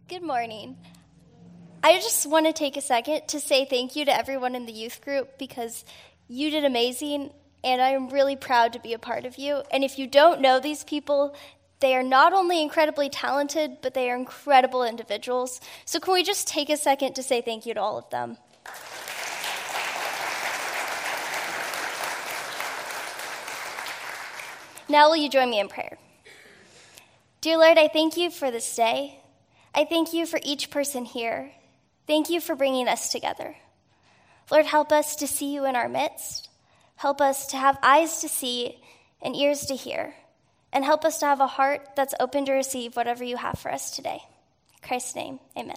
Good morning. I just want to take a second to say thank you to everyone in the youth group because you did amazing, and I'm really proud to be a part of you. And if you don't know these people, they are not only incredibly talented, but they are incredible individuals. So can we just take a second to say thank you to all of them? Now will you join me in prayer? Dear Lord, I thank you for this day. I thank you for each person here. Thank you for bringing us together. Lord, help us to see you in our midst. Help us to have eyes to see and ears to hear. And help us to have a heart that's open to receive whatever you have for us today. In Christ's name, amen.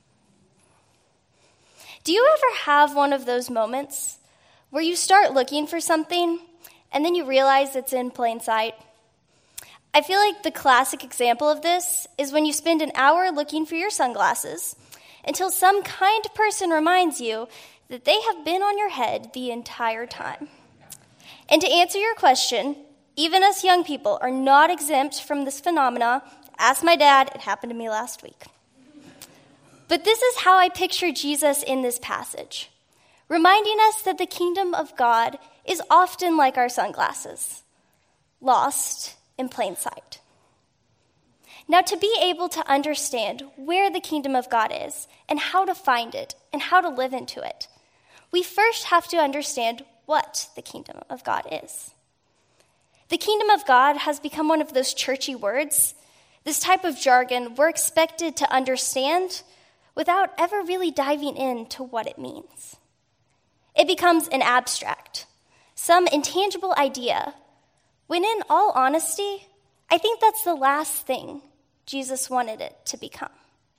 Do you ever have one of those moments where you start looking for something and then you realize it's in plain sight? I feel like the classic example of this is when you spend an hour looking for your sunglasses until some kind person reminds you that they have been on your head the entire time. And to answer your question, even us young people are not exempt from this phenomena. Ask my dad, it happened to me last week. But this is how I picture Jesus in this passage, reminding us that the kingdom of God is often like our sunglasses, lost in plain sight. Now, to be able to understand where the kingdom of God is and how to find it and how to live into it, we first have to understand what the kingdom of God is. The kingdom of God has become one of those churchy words, this type of jargon we're expected to understand without ever really diving into what it means. It becomes an abstract, some intangible idea, when in all honesty, I think that's the last thing Jesus wanted it to become.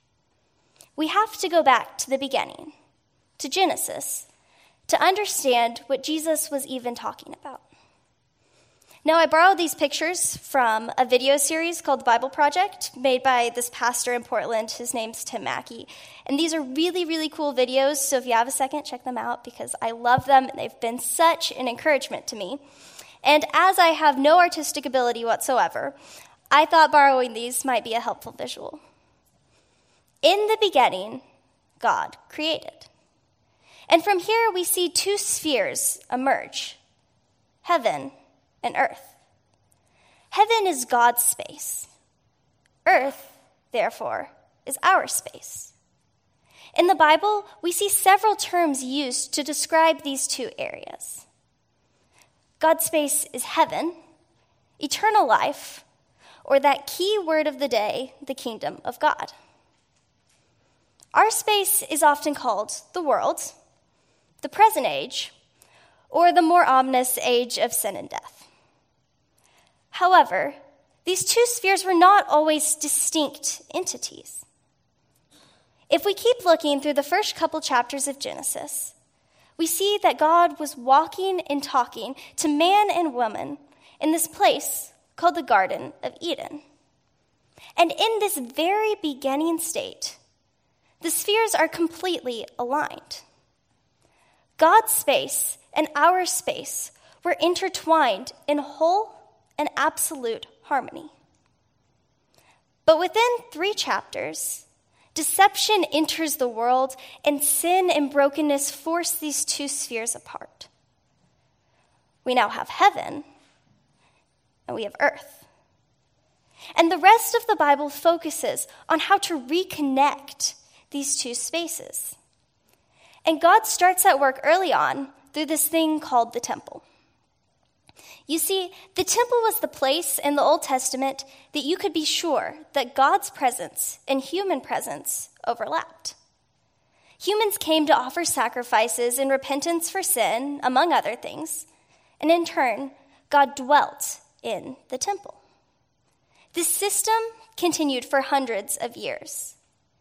We have to go back to the beginning, to Genesis, to understand what Jesus was even talking about. Now, I borrowed these pictures from a video series called The Bible Project, made by this pastor in Portland. His name's Tim Mackey. And these are really, really cool videos, so if you have a second, check them out because I love them and they've been such an encouragement to me. And as I have no artistic ability whatsoever, I thought borrowing these might be a helpful visual. In the beginning, God created. And from here, we see two spheres emerge, heaven and earth. Heaven is God's space. Earth, therefore, is our space. In the Bible, we see several terms used to describe these two areas. God's space is heaven, eternal life, or that key word of the day, the kingdom of God. Our space is often called the world, the present age, or the more ominous age of sin and death. However, these two spheres were not always distinct entities. If we keep looking through the first couple chapters of Genesis, we see that God was walking and talking to man and woman in this place called the Garden of Eden. And in this very beginning state, the spheres are completely aligned. God's space and our space were intertwined in whole and absolute harmony. But within 3 chapters, deception enters the world, and sin and brokenness force these two spheres apart. We now have heaven, and we have earth. And the rest of the Bible focuses on how to reconnect these two spaces. And God starts at work early on through this thing called the temple. You see, the temple was the place in the Old Testament that you could be sure that God's presence and human presence overlapped. Humans came to offer sacrifices in repentance for sin, among other things, and in turn, God dwelt in the temple. This system continued for hundreds of years.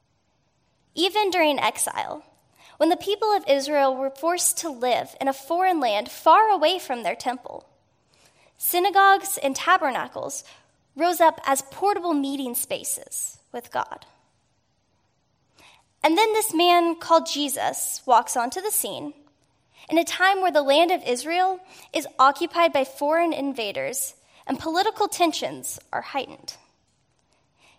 Even during exile, when the people of Israel were forced to live in a foreign land far away from their temple, synagogues and tabernacles rose up as portable meeting spaces with God. And then this man called Jesus walks onto the scene in a time where the land of Israel is occupied by foreign invaders and political tensions are heightened.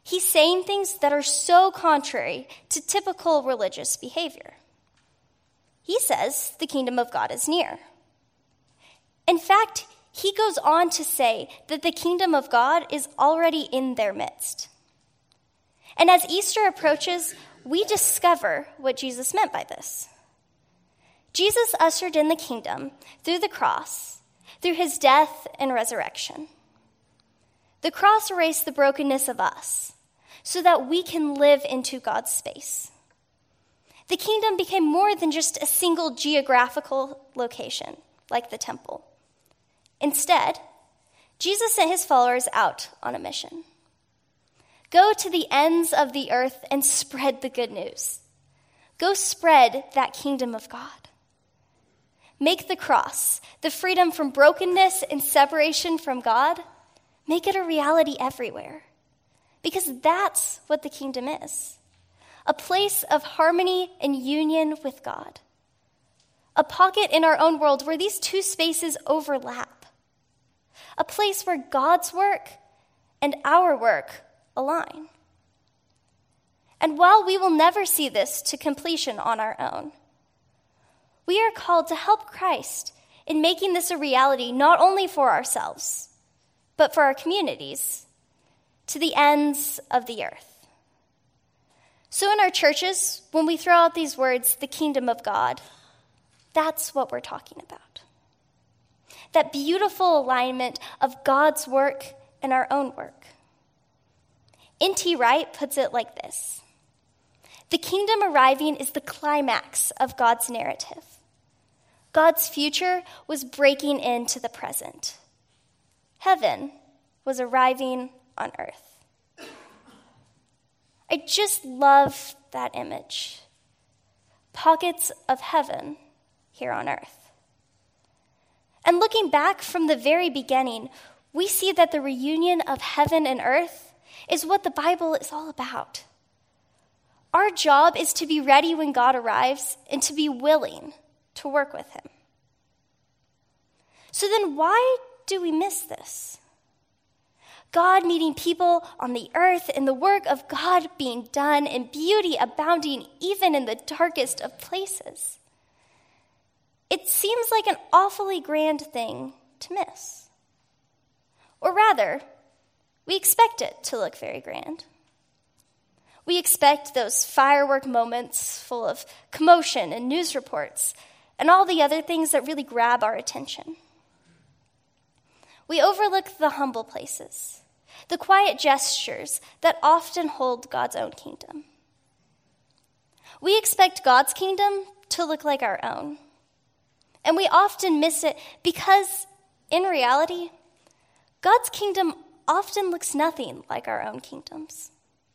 he's saying things that are so contrary to typical religious behavior. He says the kingdom of God is near. In fact, he goes on to say that the kingdom of God is already in their midst. And as Easter approaches, we discover what Jesus meant by this. Jesus ushered in the kingdom through the cross, through his death and resurrection. The cross erased the brokenness of us so that we can live into God's space. The kingdom became more than just a single geographical location, like the temple. Instead, Jesus sent his followers out on a mission. Go to the ends of the earth and spread the good news. Go spread that kingdom of God. Make the cross, the freedom from brokenness and separation from God, make it a reality everywhere. Because that's what the kingdom is. A place of harmony and union with God. A pocket in our own world where these two spaces overlap. A place where God's work and our work align. And while we will never see this to completion on our own, we are called to help Christ in making this a reality not only for ourselves, but for our communities, to the ends of the earth. So in our churches, when we throw out these words, the kingdom of God, that's what we're talking about. That beautiful alignment of God's work and our own work. N.T. Wright puts it like this: the kingdom arriving is the climax of God's narrative. God's future was breaking into the present. Heaven was arriving on earth. I just love that image. Pockets of heaven here on earth. And looking back from the very beginning, we see that the reunion of heaven and earth is what the Bible is all about. Our job is to be ready when God arrives and to be willing to work with him. So then why do we miss this? God meeting people on the earth and the work of God being done and beauty abounding even in the darkest of places. It seems like an awfully grand thing to miss. Or rather, we expect it to look very grand. We expect those firework moments full of commotion and news reports and all the other things that really grab our attention. We overlook the humble places, the quiet gestures that often hold God's own kingdom. We expect God's kingdom to look like our own. And we often miss it because, in reality, God's kingdom often looks nothing like our own kingdoms.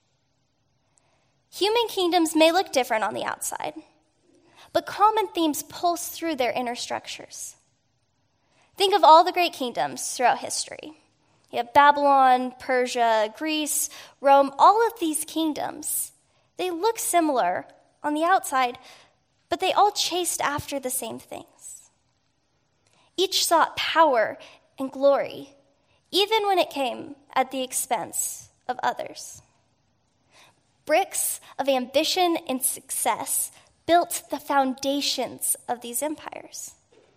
Human kingdoms may look different on the outside, but common themes pulse through their inner structures. Think of all the great kingdoms throughout history. You have Babylon, Persia, Greece, Rome, all of these kingdoms. They look similar on the outside, but they all chased after the same things. Each sought power and glory, even when it came at the expense of others. Bricks of ambition and success built the foundations of these empires.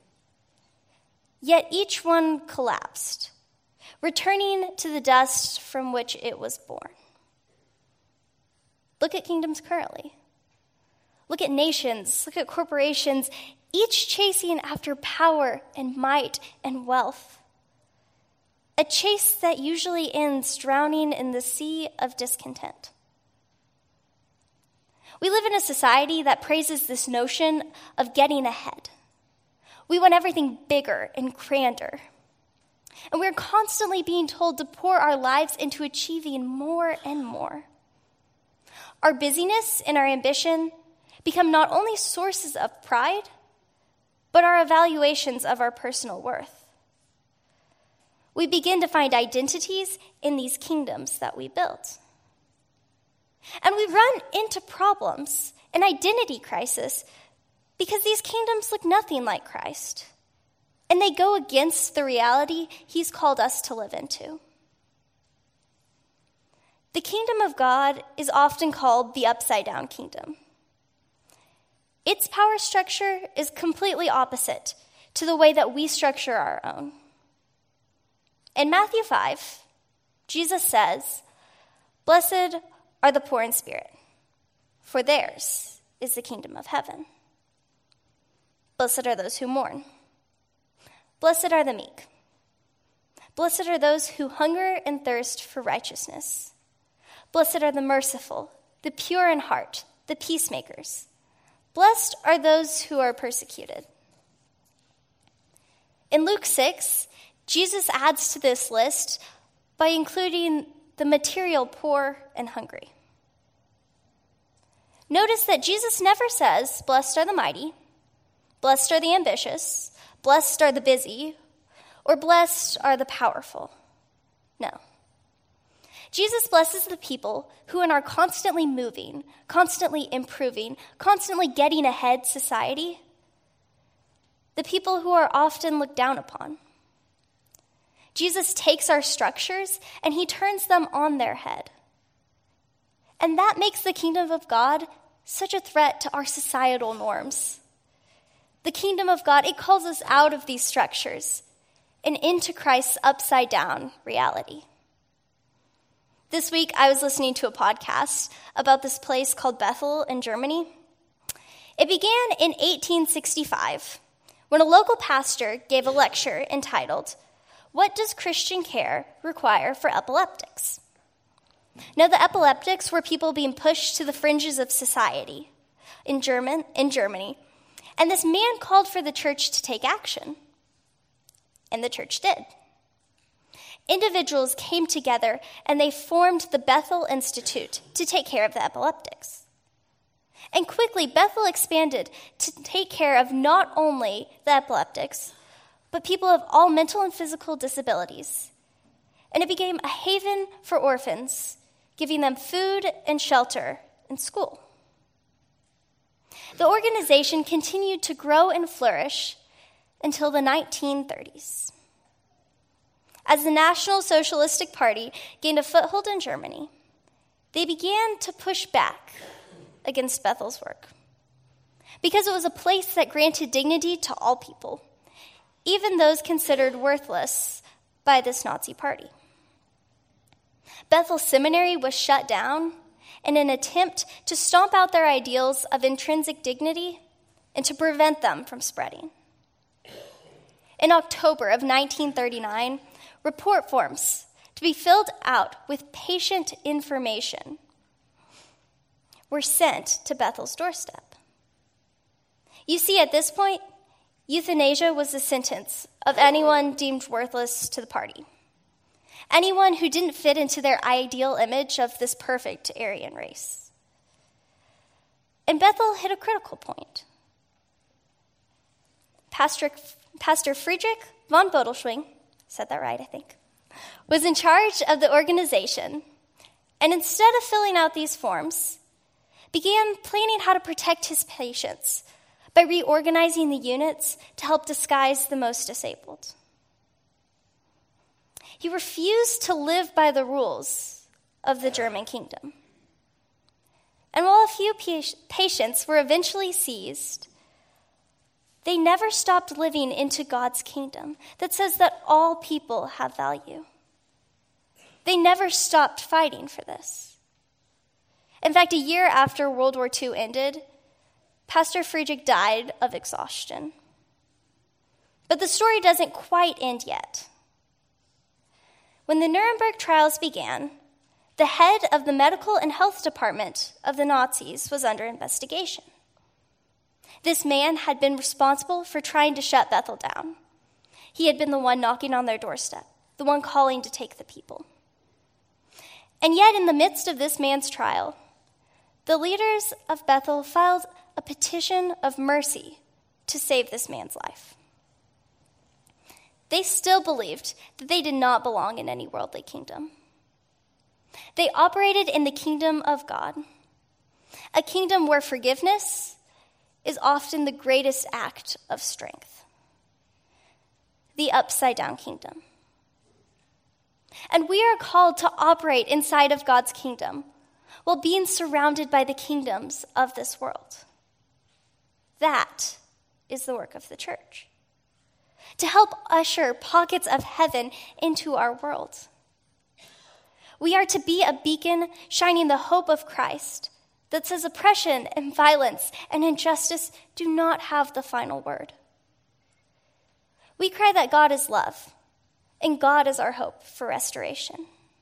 Yet each one collapsed, returning to the dust from which it was born. Look at kingdoms currently. Look at nations, look at corporations, each chasing after power and might and wealth. A chase that usually ends drowning in the sea of discontent. We live in a society that praises this notion of getting ahead. We want everything bigger and grander. And we're constantly being told to pour our lives into achieving more and more. Our busyness and our ambition become not only sources of pride, but our evaluations of our personal worth. We begin to find identities in these kingdoms that we built. And we run into problems, an identity crisis, because these kingdoms look nothing like Christ. And they go against the reality he's called us to live into. The kingdom of God is often called the upside-down kingdom. Its power structure is completely opposite to the way that we structure our own. In Matthew 5, Jesus says, "Blessed are the poor in spirit, for theirs is the kingdom of heaven. Blessed are those who mourn. Blessed are the meek. Blessed are those who hunger and thirst for righteousness. Blessed are the merciful, the pure in heart, the peacemakers. Blessed are those who are persecuted." In Luke 6, Jesus adds to this list by including the material poor and hungry. Notice that Jesus never says, "Blessed are the mighty, blessed are the ambitious, blessed are the busy, or blessed are the powerful." No. Jesus blesses the people who in our constantly moving, constantly improving, constantly getting ahead society, the people who are often looked down upon. Jesus takes our structures and he turns them on their head. And that makes the kingdom of God such a threat to our societal norms. The kingdom of God, it calls us out of these structures and into Christ's upside-down reality. This week, I was listening to a podcast about this place called Bethel in Germany. It began in 1865 when a local pastor gave a lecture entitled, "What Does Christian Care Require for Epileptics?" Now, the epileptics were people being pushed to the fringes of society in Germany, and this man called for the church to take action, and the church did. Individuals came together and they formed the Bethel Institute to take care of the epileptics. And quickly, Bethel expanded to take care of not only the epileptics, but people of all mental and physical disabilities. And it became a haven for orphans, giving them food and shelter in school. The organization continued to grow and flourish until the 1930s. As the National Socialistic Party gained a foothold in Germany, they began to push back against Bethel's work because it was a place that granted dignity to all people, even those considered worthless by this Nazi party. Bethel Seminary was shut down in an attempt to stomp out their ideals of intrinsic dignity and to prevent them from spreading. In October of 1939, report forms to be filled out with patient information were sent to Bethel's doorstep. You see, at this point, euthanasia was the sentence of anyone deemed worthless to the party, anyone who didn't fit into their ideal image of this perfect Aryan race. And Bethel hit a critical point. Pastor Friedrich von Bodelschwing, said that right, I think, was in charge of the organization, and instead of filling out these forms, began planning how to protect his patients by reorganizing the units to help disguise the most disabled. He refused to live by the rules of the German kingdom. And while a few patients were eventually seized, they never stopped living into God's kingdom that says that all people have value. They never stopped fighting for this. In fact, a year after World War II ended, Pastor Friedrich died of exhaustion. But the story doesn't quite end yet. When the Nuremberg trials began, the head of the medical and health department of the Nazis was under investigation. This man had been responsible for trying to shut Bethel down. He had been the one knocking on their doorstep, the one calling to take the people. And yet, in the midst of this man's trial, the leaders of Bethel filed a petition of mercy to save this man's life. They still believed that they did not belong in any worldly kingdom. They operated in the kingdom of God, a kingdom where forgiveness is often the greatest act of strength. The upside-down kingdom. And we are called to operate inside of God's kingdom while being surrounded by the kingdoms of this world. That is the work of the church, to help usher pockets of heaven into our world. We are to be a beacon shining the hope of Christ that says oppression and violence and injustice do not have the final word. We cry that God is love, and God is our hope for restoration.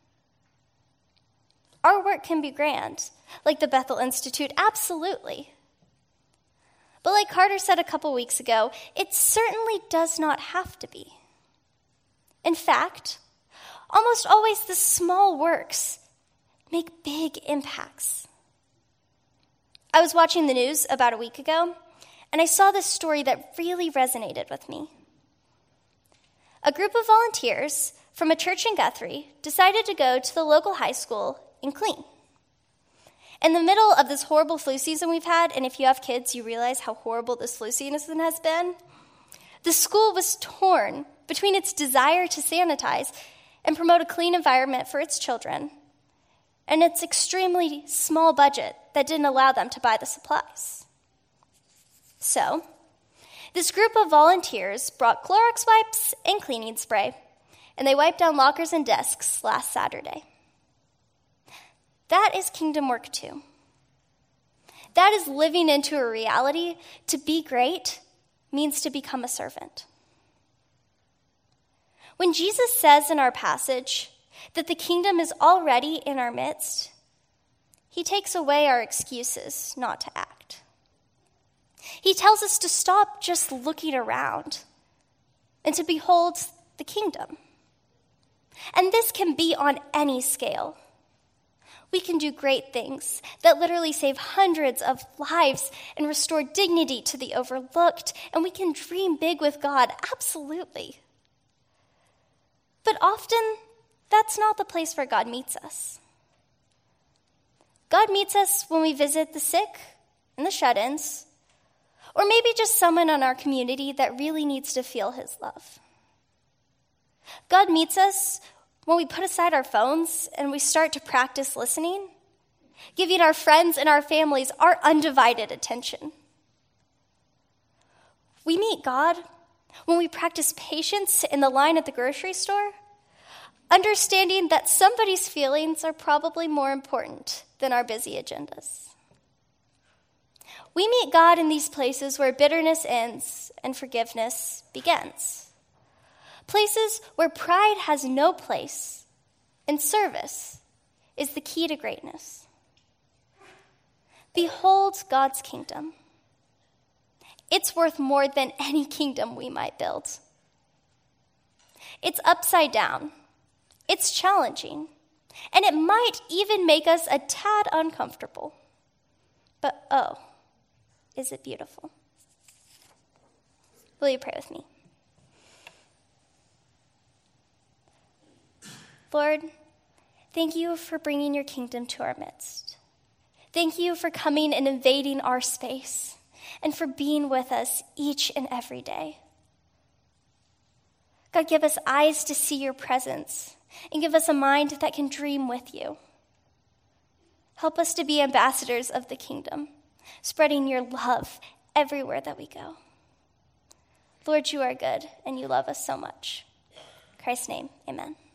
Our work can be grand, like the Bethel Institute, absolutely. But like Carter said a couple weeks ago, it certainly does not have to be. In fact, almost always the small works make big impacts. I was watching the news about a week ago, and I saw this story that really resonated with me. A group of volunteers from a church in Guthrie decided to go to the local high school and clean. In the middle of this horrible flu season we've had, and if you have kids, you realize how horrible this flu season has been, the school was torn between its desire to sanitize and promote a clean environment for its children and its extremely small budget that didn't allow them to buy the supplies. So, this group of volunteers brought Clorox wipes and cleaning spray, and they wiped down lockers and desks last Saturday. That is kingdom work too. That is living into a reality. To be great means to become a servant. When Jesus says in our passage that the kingdom is already in our midst, he takes away our excuses not to act. He tells us to stop just looking around and to behold the kingdom. And this can be on any scale. We can do great things that literally save hundreds of lives and restore dignity to the overlooked, and we can dream big with God, absolutely. But often, that's not the place where God meets us. God meets us when we visit the sick and the shut-ins, or maybe just someone in our community that really needs to feel his love. God meets us when we put aside our phones and we start to practice listening, giving our friends and our families our undivided attention. We meet God when we practice patience in the line at the grocery store, understanding that somebody's feelings are probably more important than our busy agendas. We meet God in these places where bitterness ends and forgiveness begins. Places where pride has no place and service is the key to greatness. Behold God's kingdom. It's worth more than any kingdom we might build. It's upside down. It's challenging. And it might even make us a tad uncomfortable. But oh, is it beautiful? Will you pray with me? Lord, thank you for bringing your kingdom to our midst. Thank you for coming and invading our space and for being with us each and every day. God, give us eyes to see your presence and give us a mind that can dream with you. Help us to be ambassadors of the kingdom, spreading your love everywhere that we go. Lord, you are good and you love us so much. In Christ's name, amen.